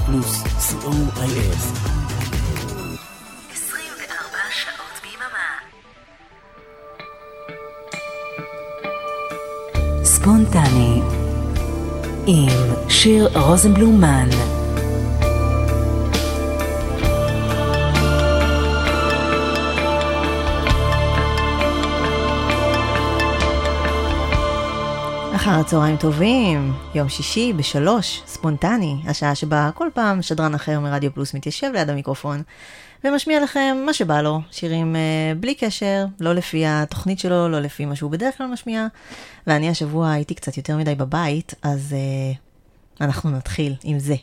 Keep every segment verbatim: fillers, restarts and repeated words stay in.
פלוס, סי או איי אס. עשרים וארבע שעות ביממה. ספונטני עם שיר רוזנבלומן. אחר הצהריים טובים, יום שישי בשלוש, ספונטני, השעה שבה כל פעם שדרן אחר מרדיו פלוס מתיישב ליד המיקרופון ומשמיע לכם מה שבא לו, שירים uh, בלי קשר, לא לפי התוכנית שלו, לא לפי מה שהוא בדרך כלל משמיע. ואני השבוע הייתי קצת יותר מדי בבית, אז uh, אנחנו נתחיל עם זה.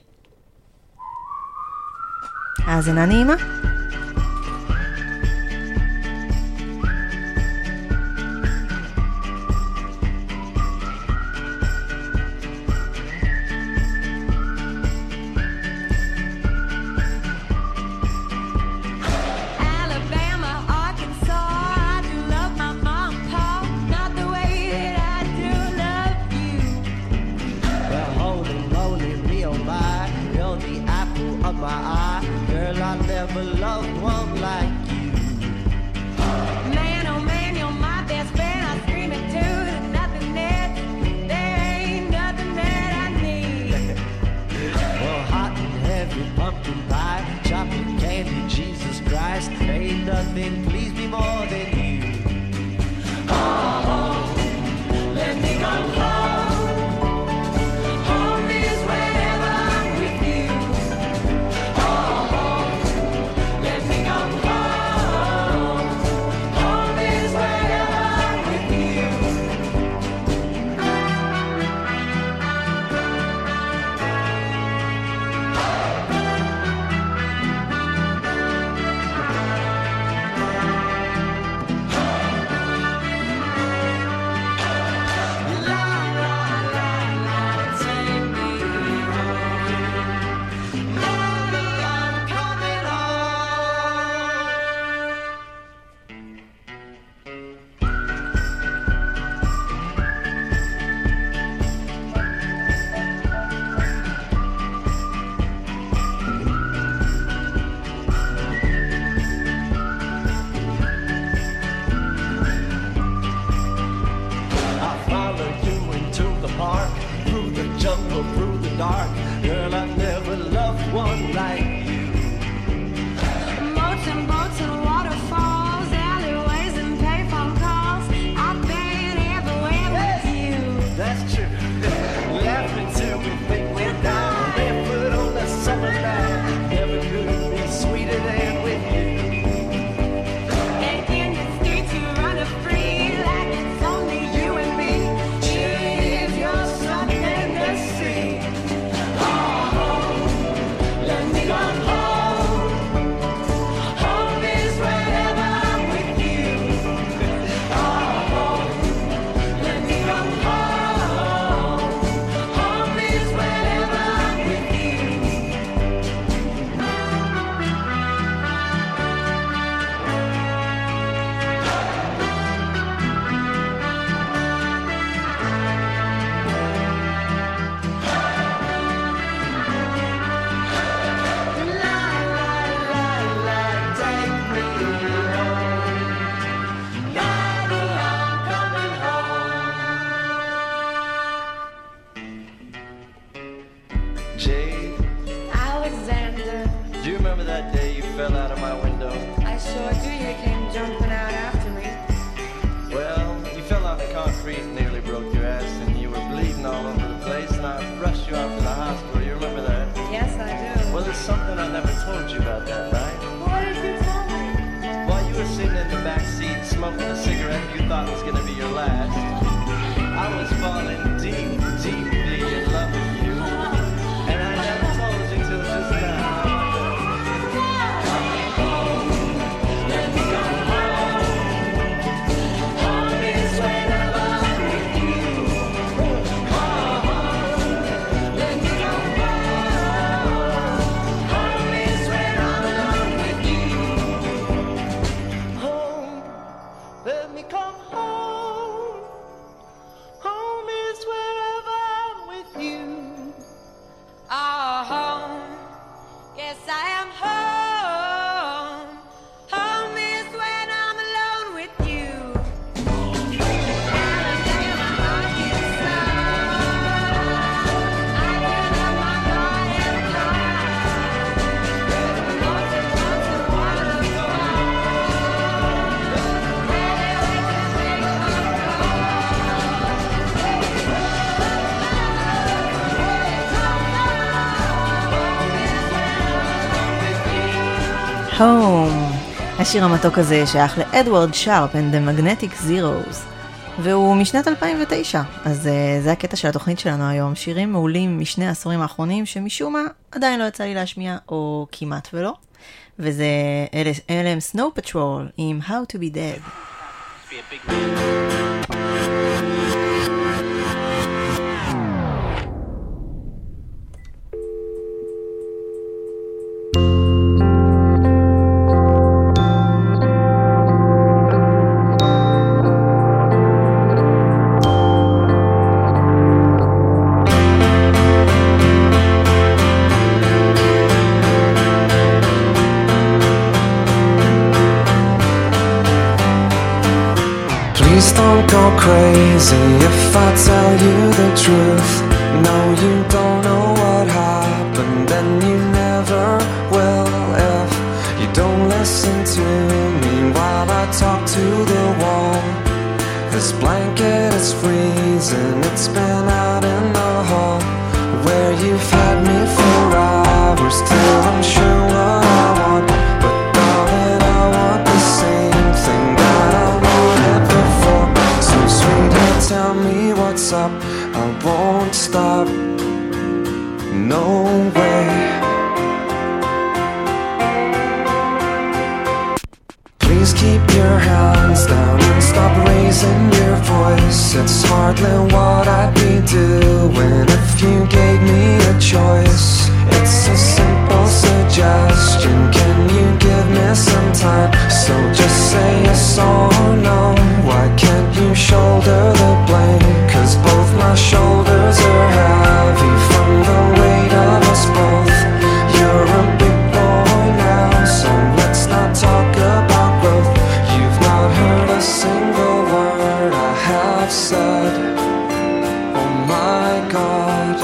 האזנה נעימה. Let me come home. Home is wherever I'm Home. השיר המתוק הזה שייך לאדוארד שרפ and the Magnetic Zeros, והוא משנת אלפיים ותשע, אז uh, זה הקטע של התוכנית שלנו היום, שירים מעולים משני העשורים האחרונים שמשום מה עדיין לא יצא לי להשמיע, או כמעט ולא, וזה אלה הם סנואו פטרול עם How to be Dead. Don't go crazy if I tell you the truth. No, you don't know what happened, and you never will if you don't listen to me while I talk to the wall. This blanket is freezing, it's been out in the hall where you've had me for hours till I'm sure what I want. But darling, I want the same thing that I wanted before. So sweetheart, tell me what's up, I won't stop, no way. Please keep your hands down and stop raising your voice. It's hardly what I'd be doing if you gave me a choice. It's a simple suggestion, can you give me some time? So just say yes or no, why can't you shoulder the blame? Cause both my shoulders are heavy from the weight of us both. You're a big boy now, so let's not talk about growth. You've not heard a single word I have said. Oh my God.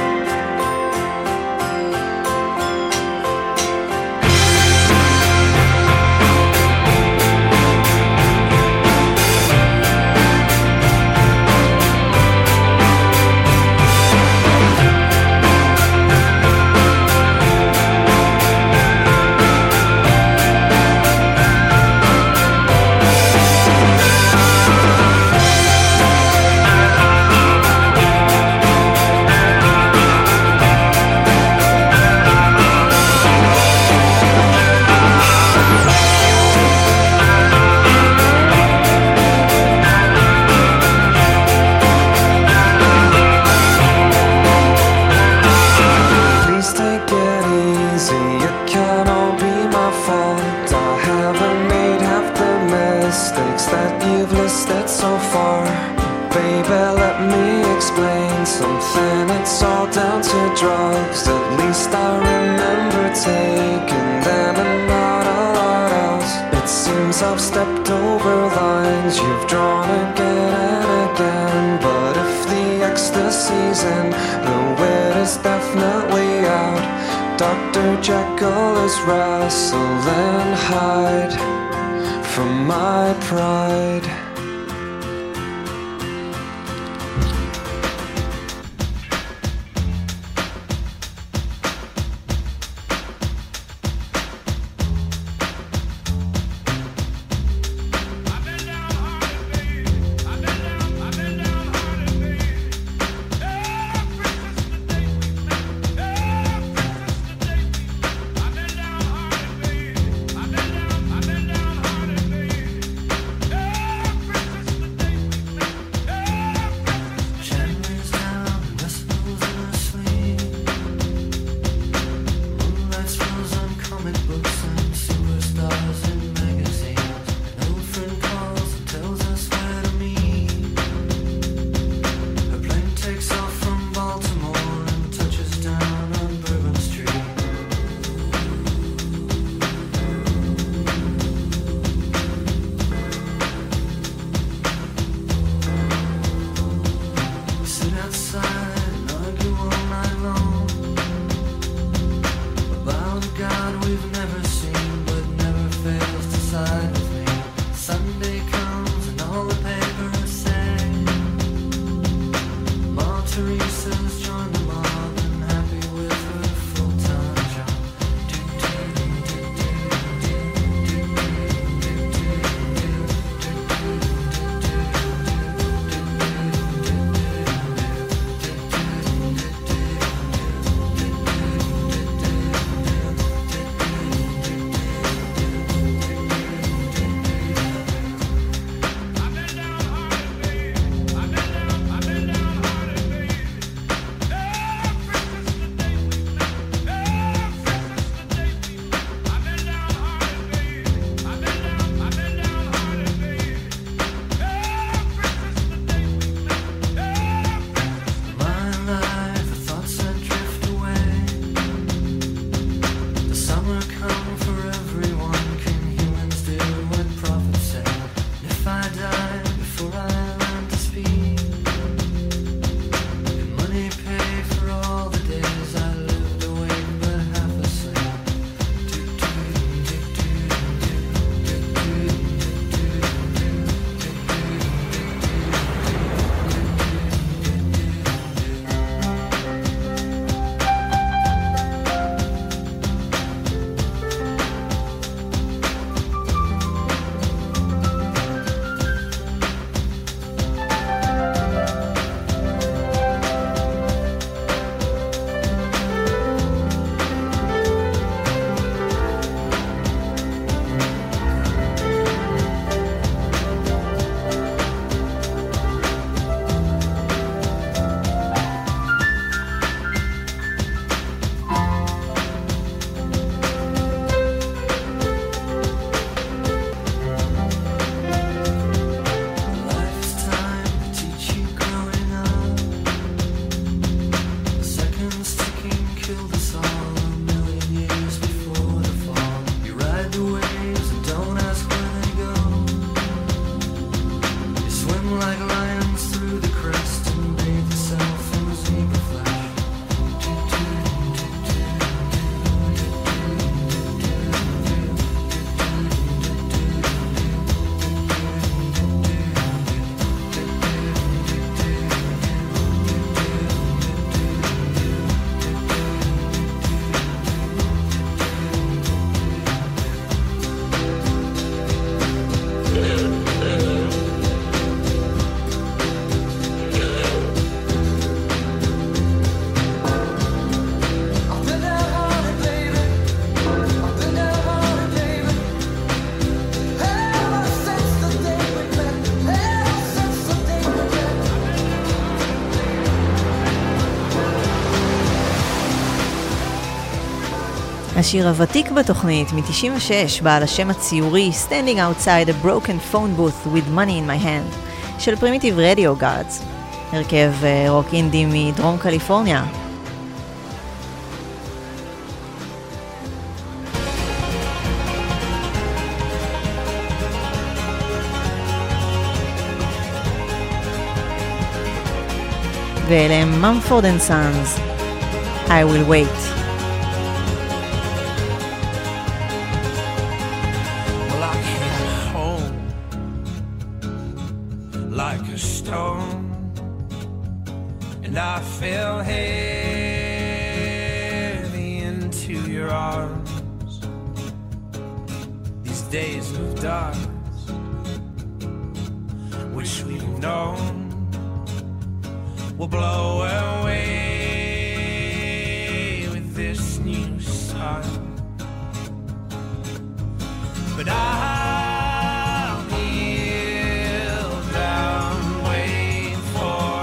Something, it's all down to drugs. At least I remember taking them and not a lot else. It seems I've stepped over lines you've drawn again and again. But if the ecstasy's in, the wit is definitely out. Doctor Jekyll is wrestling hide from my pride. השיר הוותיק בתוכנית מ-תשעים ושש בעל השם הציורי Standing Outside a Broken Phone Booth with Money in My Hand של פרימיטיב רדיו גארדס, הרכב רוק אינדי מדרום קליפורניה. ואלה הם ממפורד אנד סאנס, I will wait. Well, I came home like a stone, and I fell heavy into your arms. These days of darkness, which we've known, will blow away with this new sun. But I'll kneel down, wait for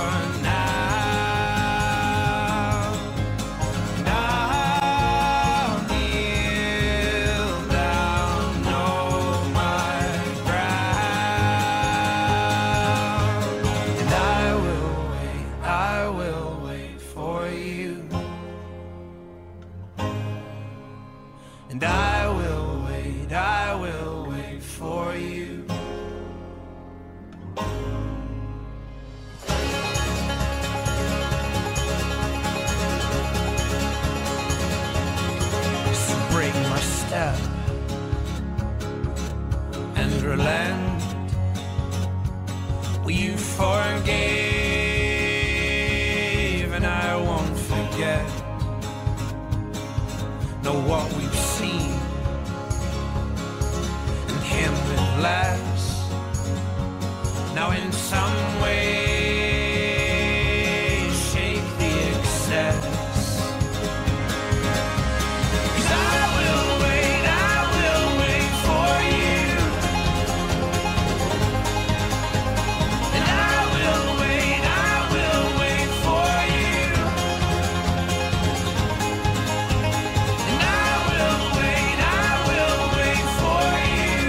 now. And I'll kneel down, know my ground. And I will wait, I will wait for you. And I will wait, I will wait for you. So break my step and relent. Well, you forgave and I won't forget. Know what we've seen and him with less. Now in some way shape the excess. 'Cause I will wait, I will wait for you. And I will wait, I will wait for you. And I will wait, I will wait for you.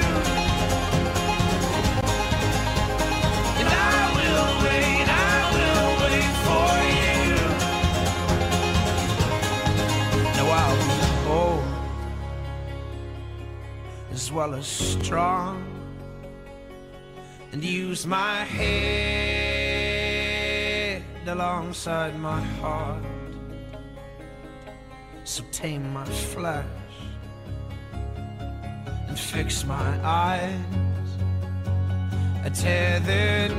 And I will wait, I will wait for you. Now I'll be bold as well as strong, and use my head alongside my heart. So tame my flesh and fix my eyes, a tethered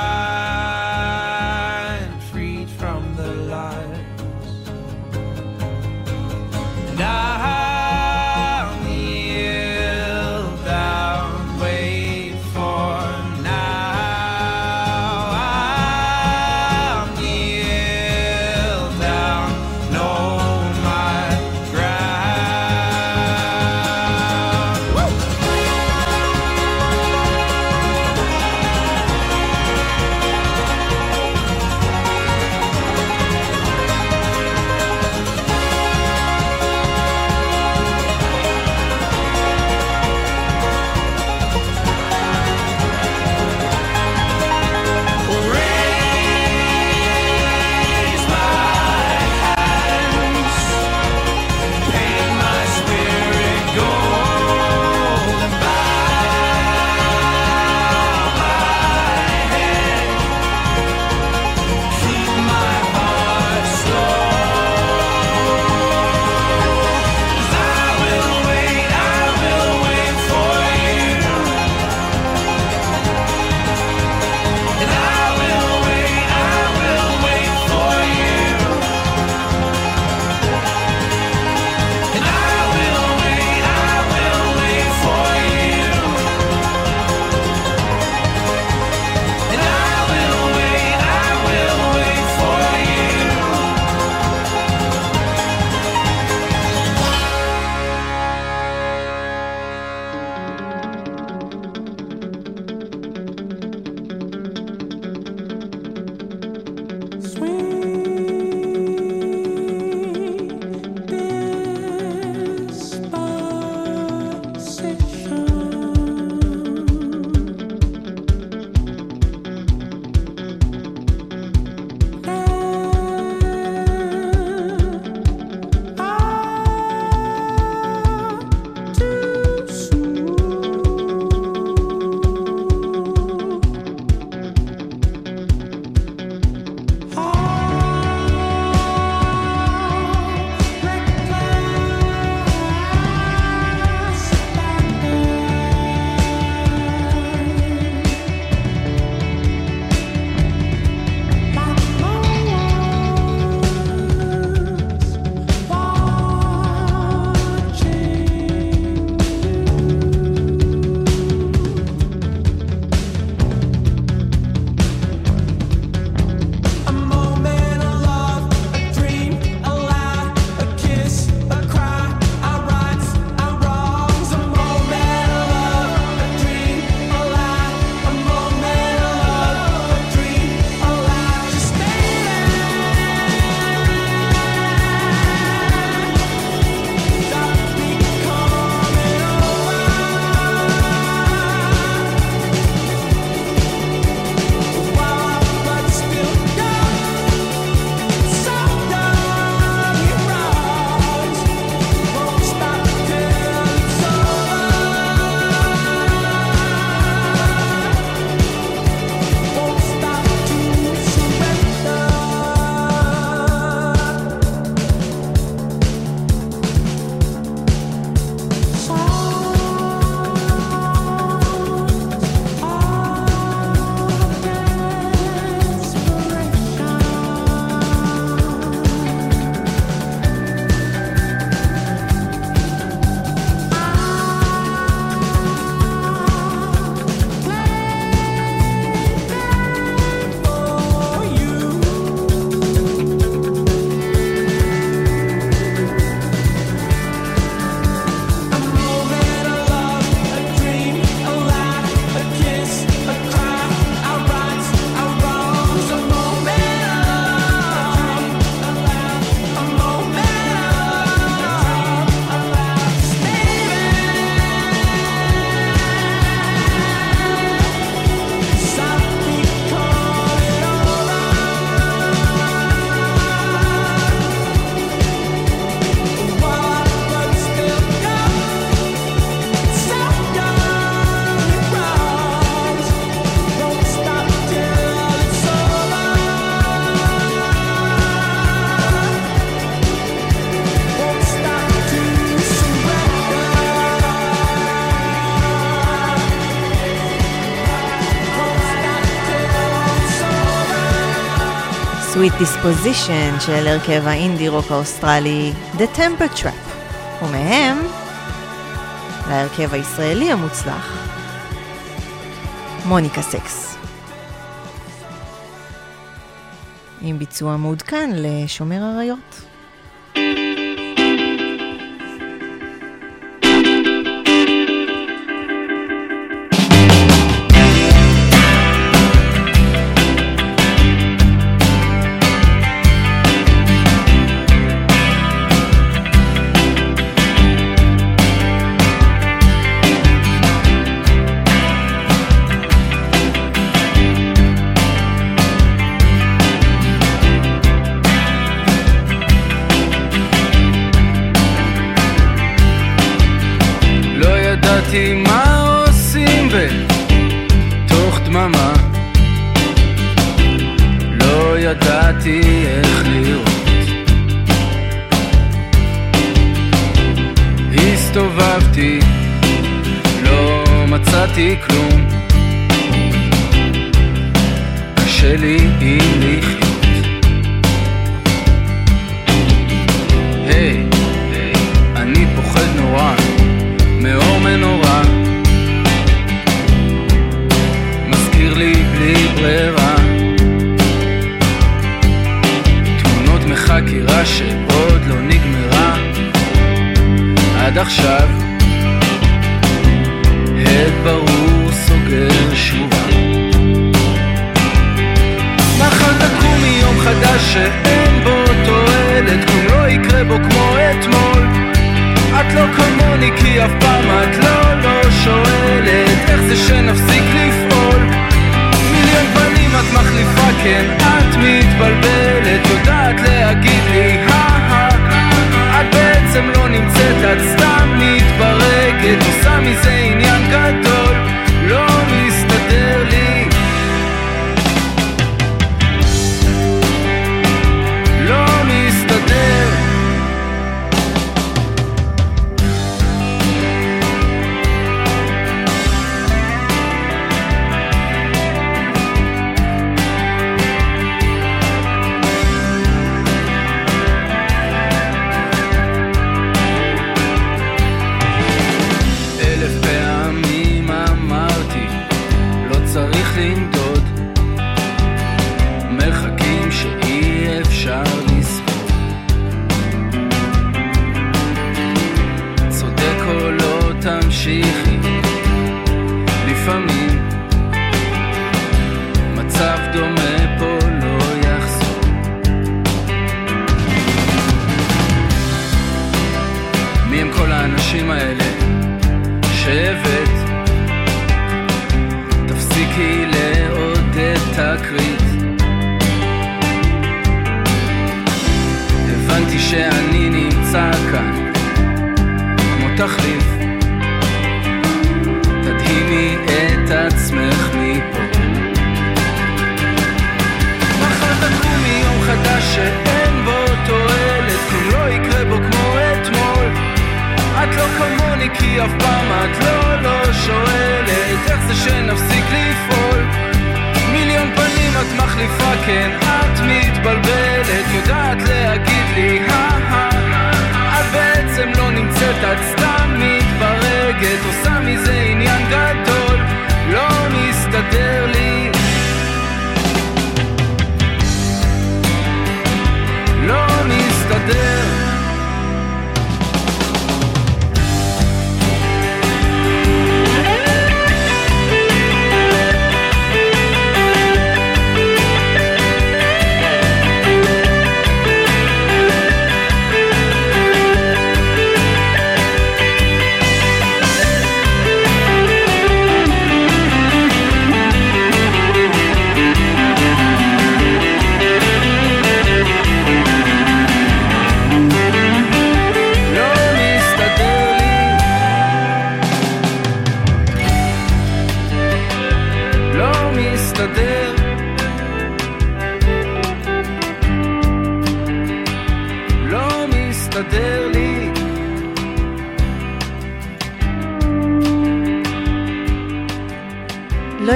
mind freed from the lies. And I'll kneel down, wait for now. I'll kneel down, know my ground. Woo! Sweet Disposition של הרכב האינדי רוק האוסטרלי The Temper Trap, ומהם להרכב הישראלי המוצלח מוניקה סקס, עם ביצוע מעודכן לשומר הריות. מה עושים בתוך דממה, לא ידעתי איך לראות, הסתובבתי, לא מצאתי כלום, קשה לי עם לחיות. היי, אני פוחד נורא מאור מנורה, מזכיר לי בלי ברירה תמונות מחקירה שעוד לא נגמרה עד עכשיו, הד ברור סוגר שובה, מחר תקום מיום חדש שאין בו תועלת, כלום לא יקרה בו כמו אתמול, את לא כמוני כי אף פעם את לא לא שואלת איך זה שנפסיק לפעול, מיליון פנים את מחליפה, כן את מתבלבלת, יודעת להגיד לי הא את בעצם לא נמצאת, את סתם מתברגת, עושה מזה עניין גדול, לא מסתדר לי, לא מסתדר. לנדוד מרחקים שאי אפשר לספור, צודק או לא תמשיכי, לפעמים מצב דומה פה לא יחזור, מי הם כל האנשים האלה שהבאת, תפסיקי לעודד תקרית, הבנתי שאני נמצא כאן כמו תחליף, תדהימי את עצמך מפה, מחר תקום מיום חדש שאין בו תועלת, כלום לא יקרה בו כמו אתמול, את לא כמוני כי אף פעם את לא לא שואלת איך זה שנפסיק לפעול, מיליון פנים את מחליפה, כן את מתבלבלת, יודעת להגיד לי הא את בעצם לא נמצאת, את סתם מתברגת, עושה מזה עניין גדול, לא מסתדר לי, לא מסתדר.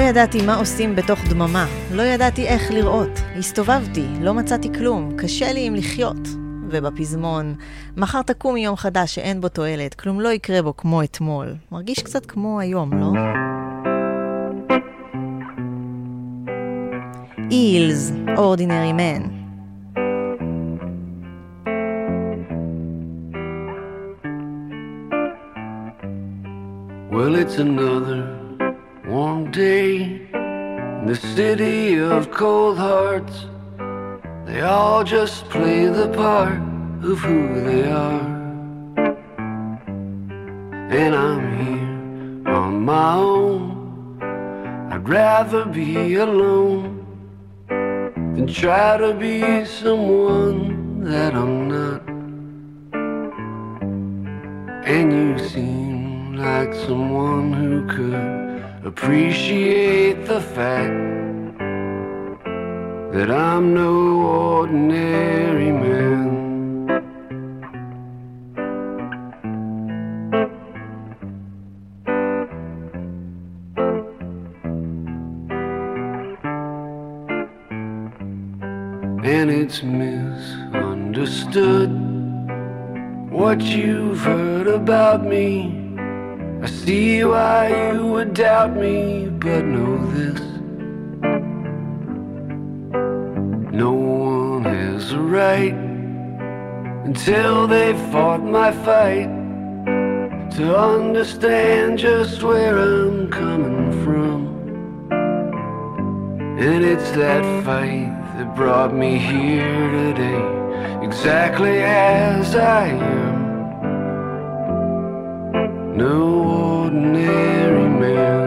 ידעתי מה עושים בתוך דממה, לא ידעתי איך לראות, הסתובבתי, לא מצאתי כלום, קשה לי עם לחיות. ובפזמון, מחר תקום יום חדש שאין בו תועלת, כלום לא יקרה בו כמו אתמול. מרגיש קצת כמו היום, לא? Eels, Ordinary Man. Well, it's another warm day in the city of cold hearts. They all just play the part of who they are. And I'm here on my own. I'd rather be alone than try to be someone that I'm not. And you seem like someone who could appreciate the fact that I'm no ordinary man. And it's misunderstood what you've heard about me. I see why you would doubt me, but know this: no one has a right until they fought my fight to understand just where I'm coming from. And it's that fight that brought me here today, exactly as I am. No ordinary man.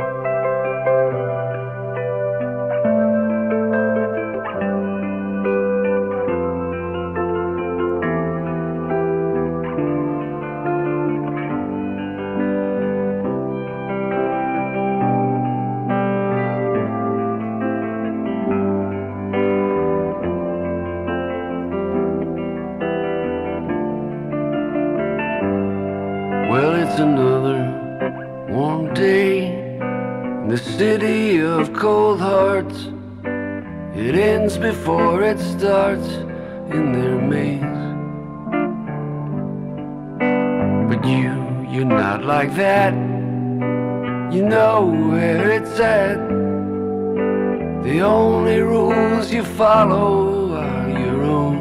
Another warm day in the city of cold hearts. It ends before it starts in their maze. But you, you're not like that. You know where it's at. The only rules you follow are your own.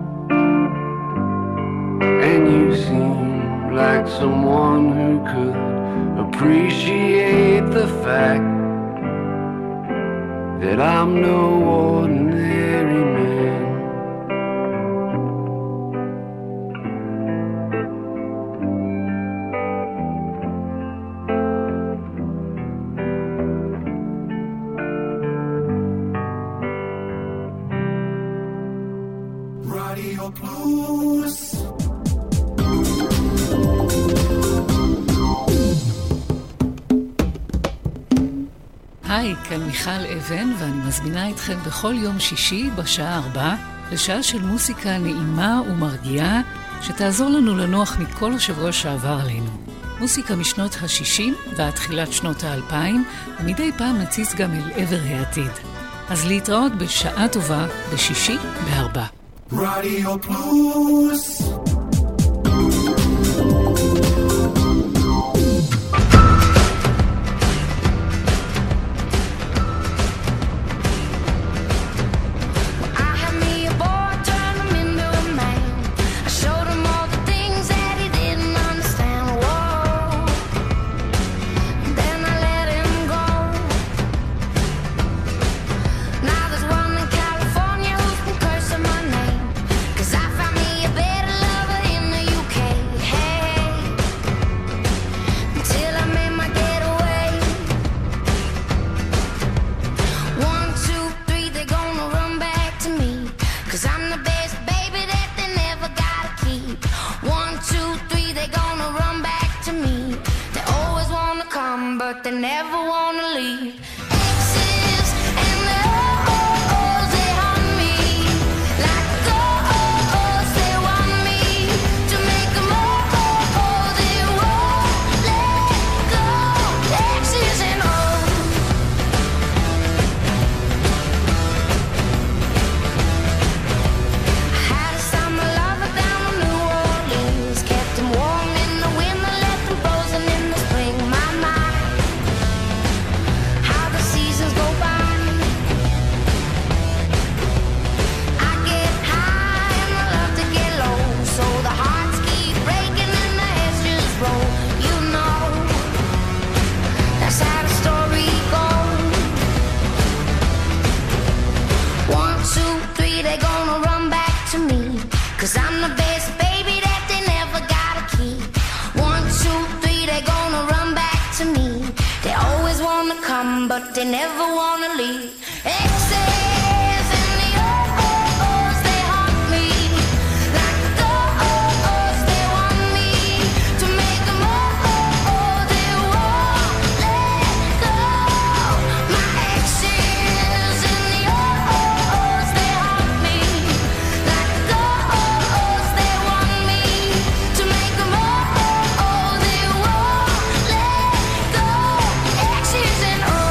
And you seem like someone who could appreciate the fact that I'm no ordinary man. Radio Plus. היי, כאן מיכל אבן, ואני מזמינה אתכם בכל יום שישי בשעה ארבע לשעה של מוסיקה נעימה ומרגיעה שתעזור לנו לנוח מכל השבוע שעבר עלינו. מוסיקה משנות ה-שישים ועד תחילת שנות ה-אלפיים, ומדי פעם נציץ גם אל עבר העתיד. אז להתראות בשעה טובה בשישי בארבע. רדיו פלוס. they never wanna leave. Exes and the oh-oh-ohs, they haunt me. Like the oh-ohs, they want me to make them oh-oh-oh, they won't let go. My exes and the oh-oh-ohs, they haunt me. Like the oh-ohs, they want me to make them oh-oh-oh, they won't let go. Exes and oh.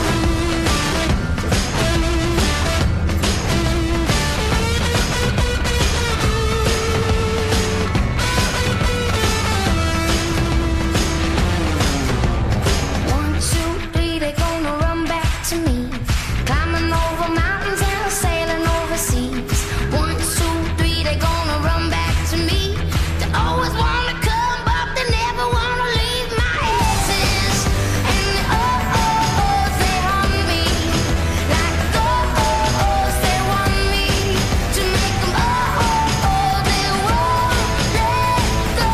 One, two, three, they're gonna run back to me. Climbing over mountains and sailing overseas. One, two, three, they're gonna run back to me. They always wanna come, but they never wanna leave. My exes and the oh-oh-ohs, they haunt me. Like the oh-ohs, they want me to make them oh-oh-oh, they won't let go.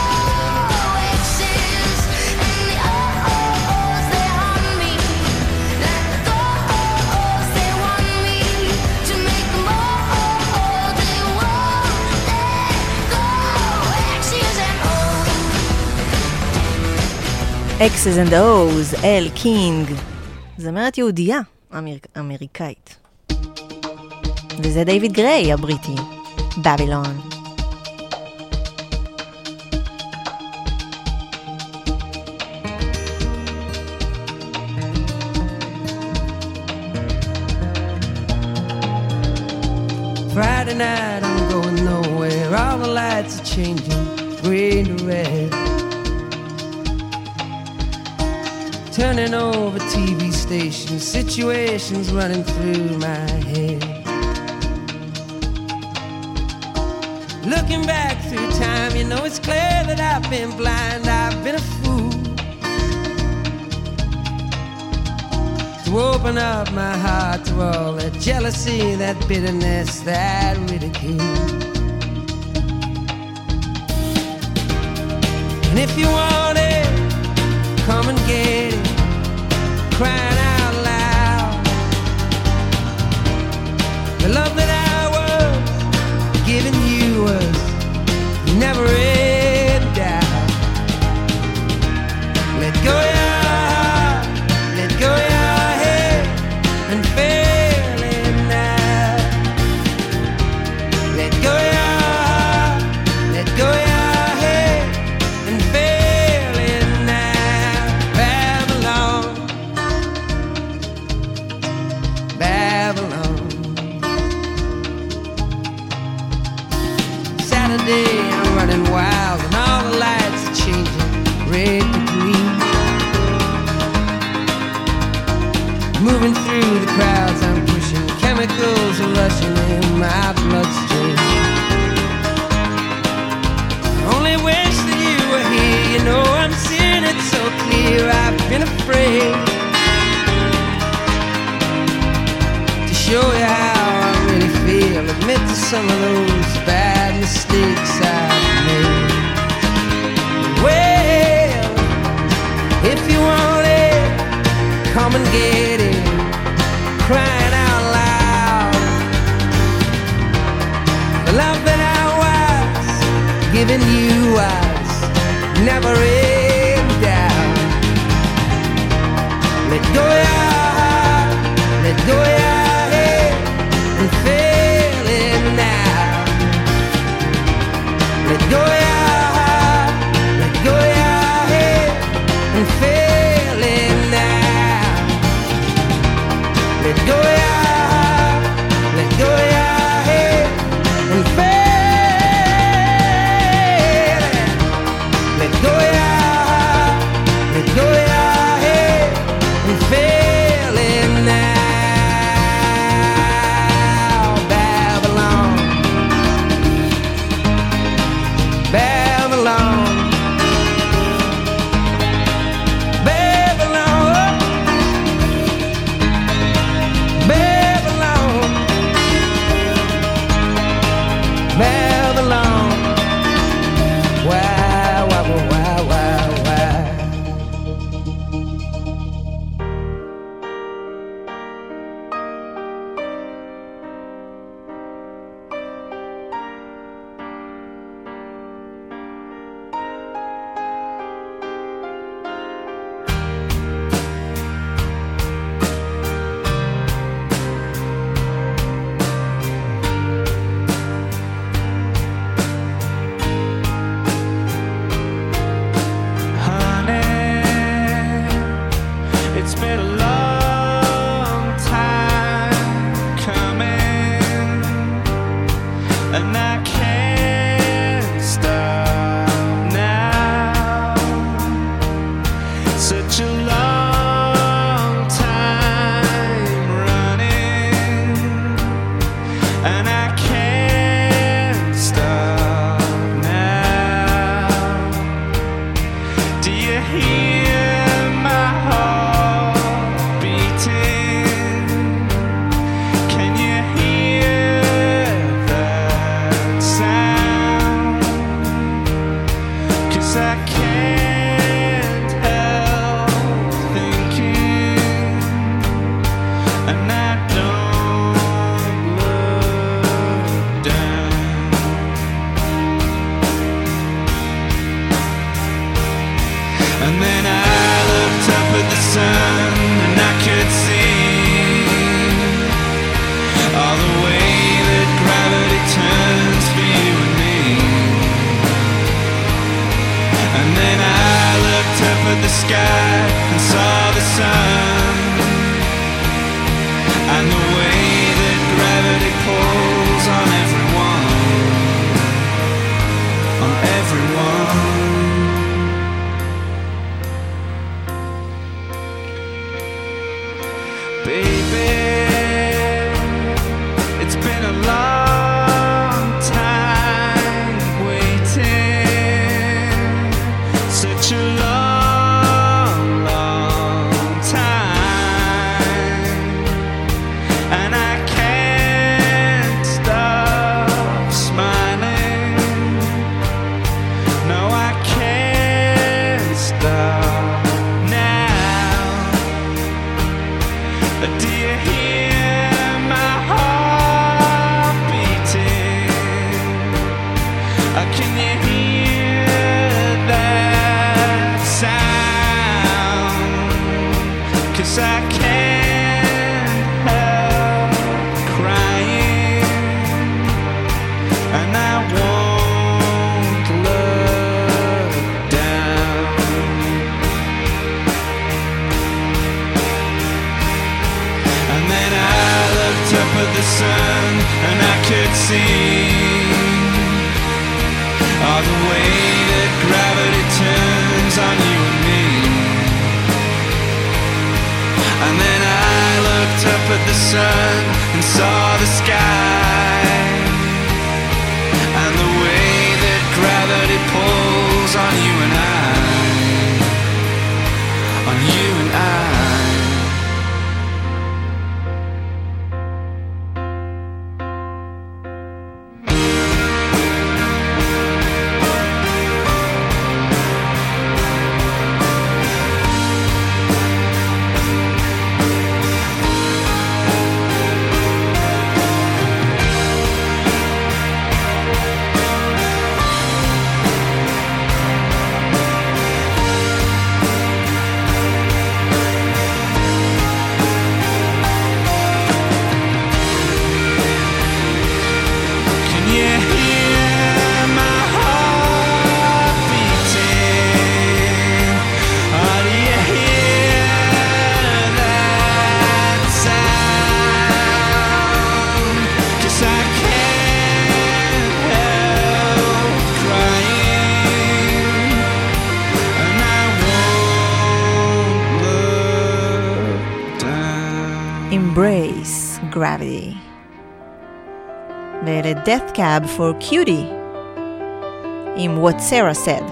Exes and the oh-oh-ohs, they haunt me. Like the oh-ohs, they want me to make them oh-oh-oh, they won't let go. Exes and X's and O's, אל קינג. זמרת יהודייה אמר... אמריקאית. וזה דיוויד גריי הבריטי, בבילון. Friday night, I'm going nowhere. All the lights are changing, green to red. Turning over T V stations, situations running through my head. Looking back through time, you know it's clear that I've been blind, I've been a fool to open up my heart to all that jealousy, that bitterness, that ridicule. And if you want it, come and get it, crying out loud. The love that I was giving you was never in doubt. Let go your heart, let go your head, and feel it now. Let go your heart, let go your head, and feel it now. Babylon, Babylon. Saturday, I'm running wild, and all the lights are changing, red to green. Moving through the crowds, I'm pushing, chemicals are rushing in my bloodstream. I only wish that you were here, you know I'm seeing it so clear. I've been afraid to show you how I really feel, admit to some of those bad mistakes I've made. Well, if you want it, come and get it, crying out loud. The love that I was giving you was never in doubt. Let go your heart, let go your head, and feel it now. Let go your heart, let go your head, and feel it now. Let go your heart, let go your head, and feel it. Let go your heart, let go your head, and feel sky and saw the sun, and the way that gravity pulls on everyone, on everyone. Baby, it's been a long time waiting, such a long, long time, and I can't stop smiling. No, I can't stop now. Do you hear my heart beating? Or can you hear that sound? 'Cause I can't help crying, and I won't look down. And then I looked up at the sun, and I could see all the way that gravity turns on you and me. And then I looked up at the sun and saw the sky, and the way that gravity pulls on you and I, on you and I. Can you hear my heart beating? Or do you hear that sound? 'Cause I can't help crying, and I won't look down. Embrace Gravity. ואלה Death Cab for Cutie עם What Sarah Said.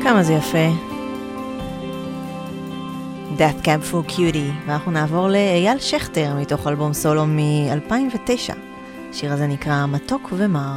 כמה זה יפה. Death Cab for Cutie, ואנחנו נעבור לאייל שכטר מתוך אלבום סולו מ-אלפיים ותשע. השיר הזה נקרא מתוק ומר.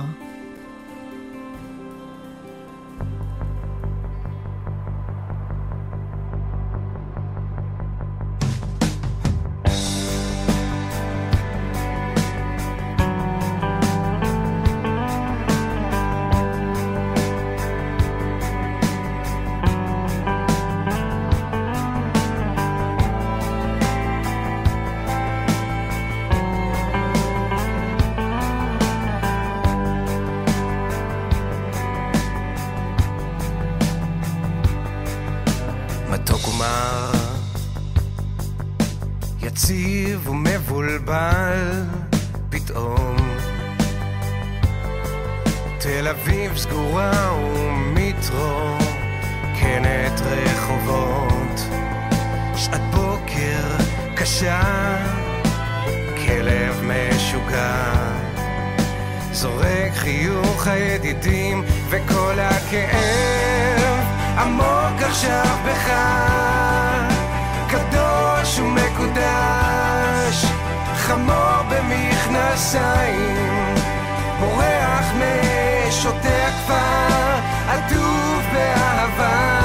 יציב ומבולבל פתאום תל אביב סגורה ומתרוקנת רחובות שעת בוקר קשה כלב משוגע זורק חיוך הידידים וכל הכאב עמוק עכשיו בך קדוש ומקודש חמור במכנסיים בורח משוטי הכפר עטוף באהבה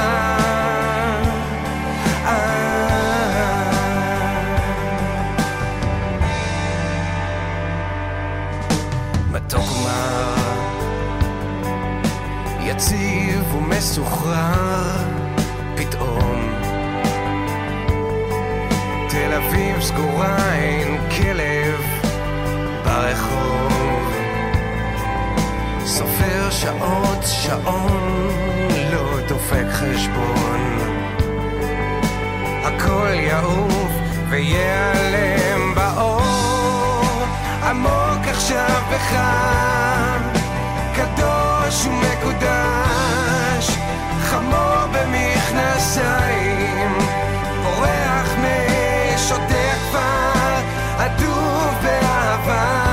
מתוק ומר יציב ומסוחרר פתאום תל אביב סגורה אין כלב ברחוב סופר שעות שעון לא דופק חשבון הכל יעוף ויעלם באור עמוק עכשיו בך קדוש ומקודש חמור במכנסיים בורח משוטי הכפר עטוף באהבה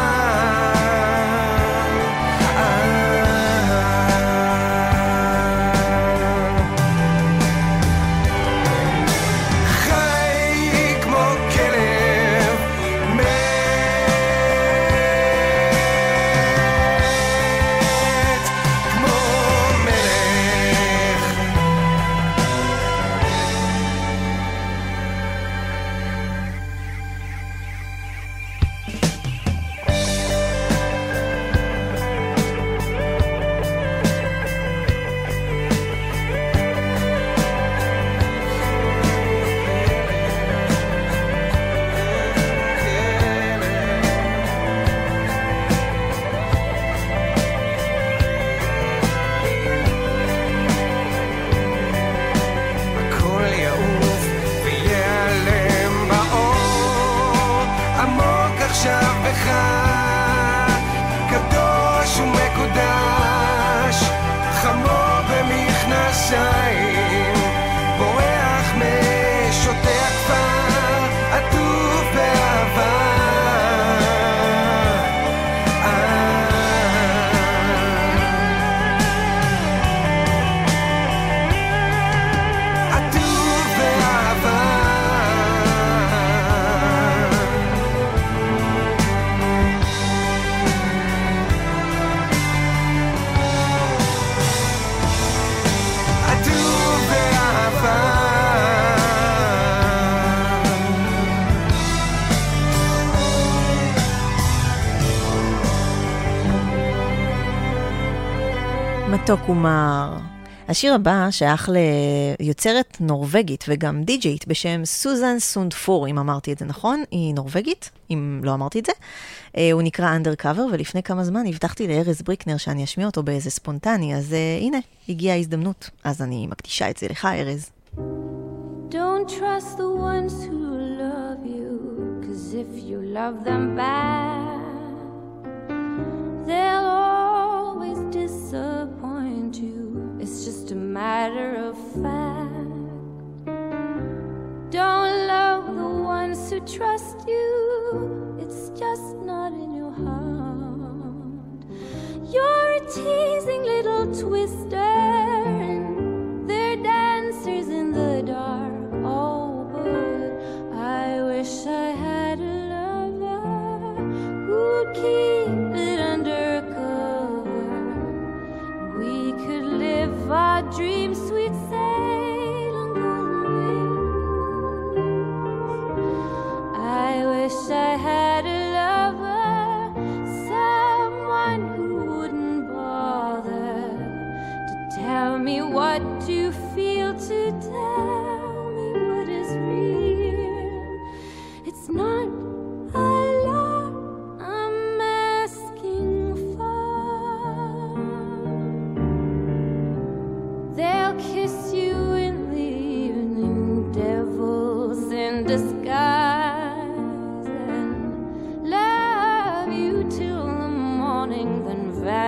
מתוק ומר. השיר הבא שייך ליוצרת נורווגית וגם די-ג'יית בשם סוזן סונדפור, אם אמרתי את זה נכון, היא נורווגית, אם לא אמרתי את זה. הוא נקרא Undercover, ולפני כמה זמן הבטחתי לארז בריקנר שאני אשמיע אותו באיזה ספונטני, אז הנה, הגיעה ההזדמנות. אז אני מקדישה את זה לך, ארז. Don't trust the ones who love you, 'cause if you love them back, they'll always disappoint you. It's just a matter of fact. Don't love the ones who trust you. It's just not in your heart. You're a teasing little twister, and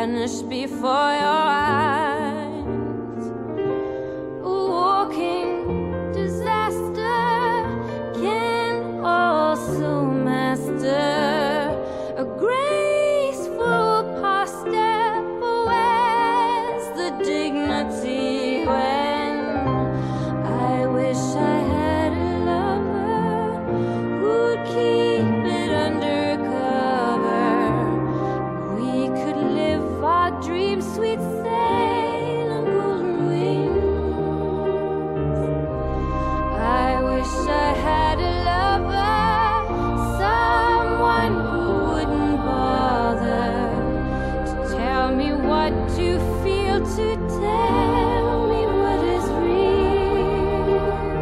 vanish before your eyes. A walking disaster can also master a graceful step. Where's the dignity when I wish I had a lover who'd keep it undercover? We could live our dreams, sweet sail on golden wings. I wish I had a lover, someone who wouldn't bother to tell me what to feel, to tell me what is real.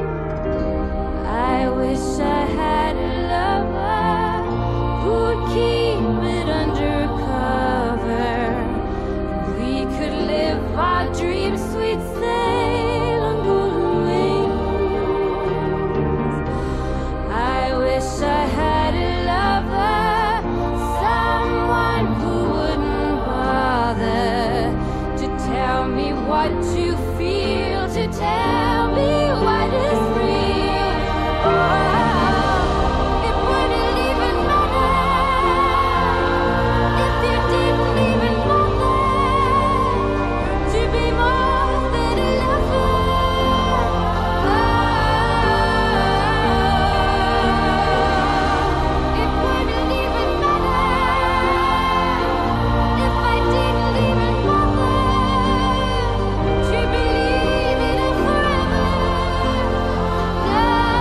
I wish I had a lover who'd keep it undercover, and we could live our dreams, sweet sail on golden wings. I wish I had a lover, someone who wouldn't bother to tell me what to feel, to tell me what is real. Oh, it wouldn't even matter if you didn't even bother to be more than a lover. Oh, it wouldn't even matter if I didn't even bother to believe in a forever. No,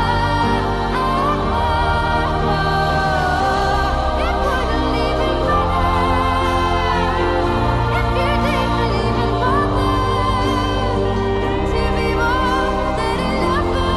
it wouldn't even matter if you didn't even bother to be more than a lover.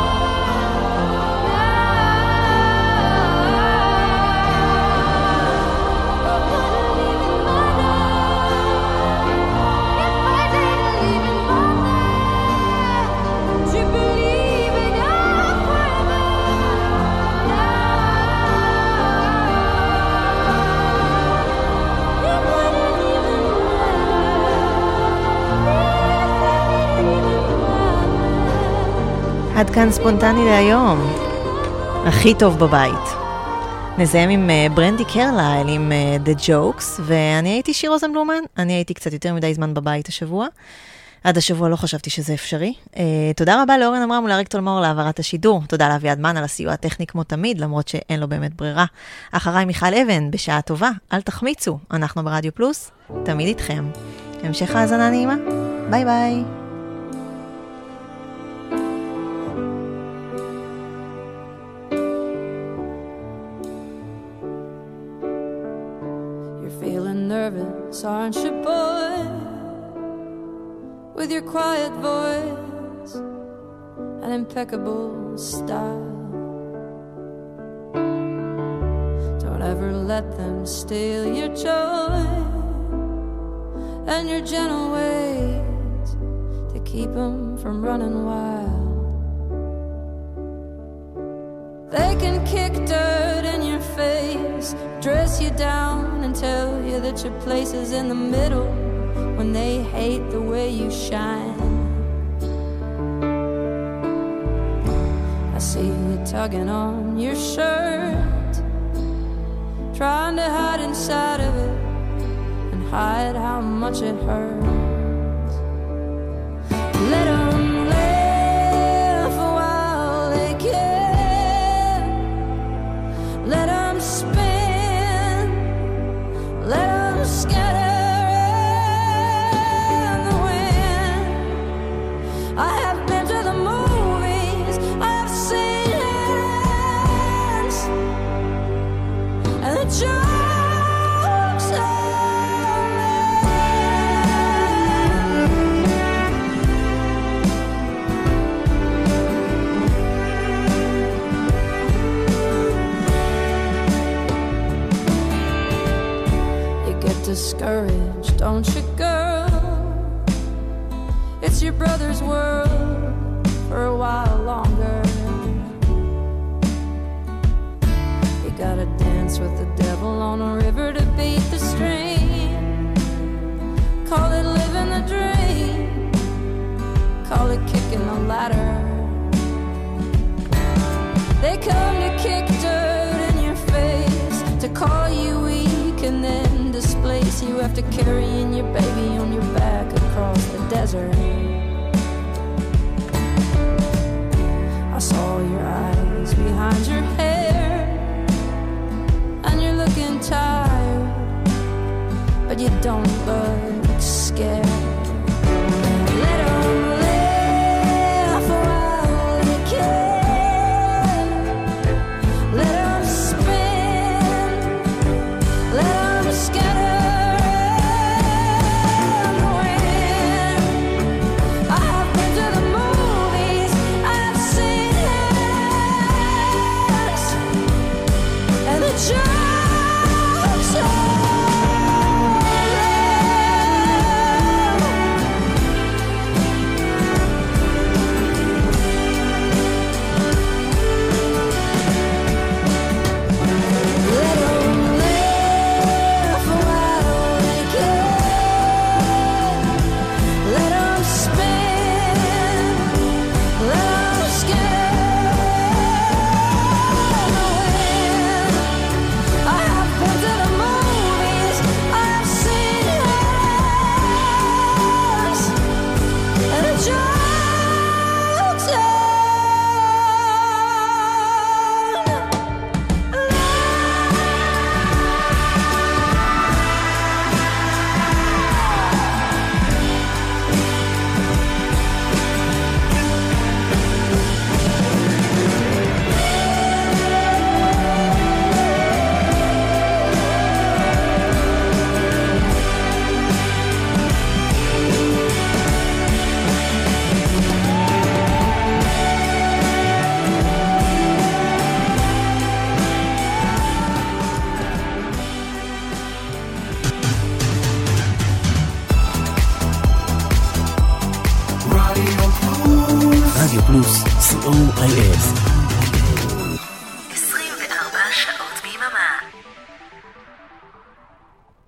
עד כאן ספונטני להיום. הכי טוב בבית. נסיים עם uh, ברנדי קרלייל עם uh, The Jokes, ואני הייתי שיר רוזנבלומן. אני הייתי קצת יותר מדי זמן בבית השבוע. עד השבוע לא חשבתי שזה אפשרי. Uh, תודה רבה לאורן אמרם ולאריק תולמור להעברת השידור. תודה לאביעד מן על הסיוע הטכני כמו תמיד, למרות שאין לו באמת ברירה. אחריי מיכל אבן, בשעה טובה. אל תחמיצו. אנחנו ברדיו פלוס, תמיד איתכם. המשך האזנה נעימה. ביי ביי. Feeling nervous, aren't you, boy? With your quiet voice and impeccable style. Don't ever let them steal your joy and your gentle ways to keep them from running wild. They can kick dirt in your face, dress you down and tell you that your place is in the middle when they hate the way you shine. I see you tugging on your shirt, trying to hide inside of it and hide how much it hurts. Let 'em laugh while they can. Let 'em spin, let 'em scatter in the wind. I have been to the movies, I have seen it, and the jokes are discouraged, don't you, girl? It's your brother's world for a while longer. You gotta dance with the devil on a river to beat the stream. and then displace you after carrying your baby on your back across the desert. I saw your eyes behind your hair, and you're looking tired, but you don't look scared. Let 'em laugh while they can. Let 'em spin. Let 'em scatter and win. I have been to the movies. I've seen it, and the jokes are רדיו פלוס, סי או איי אס.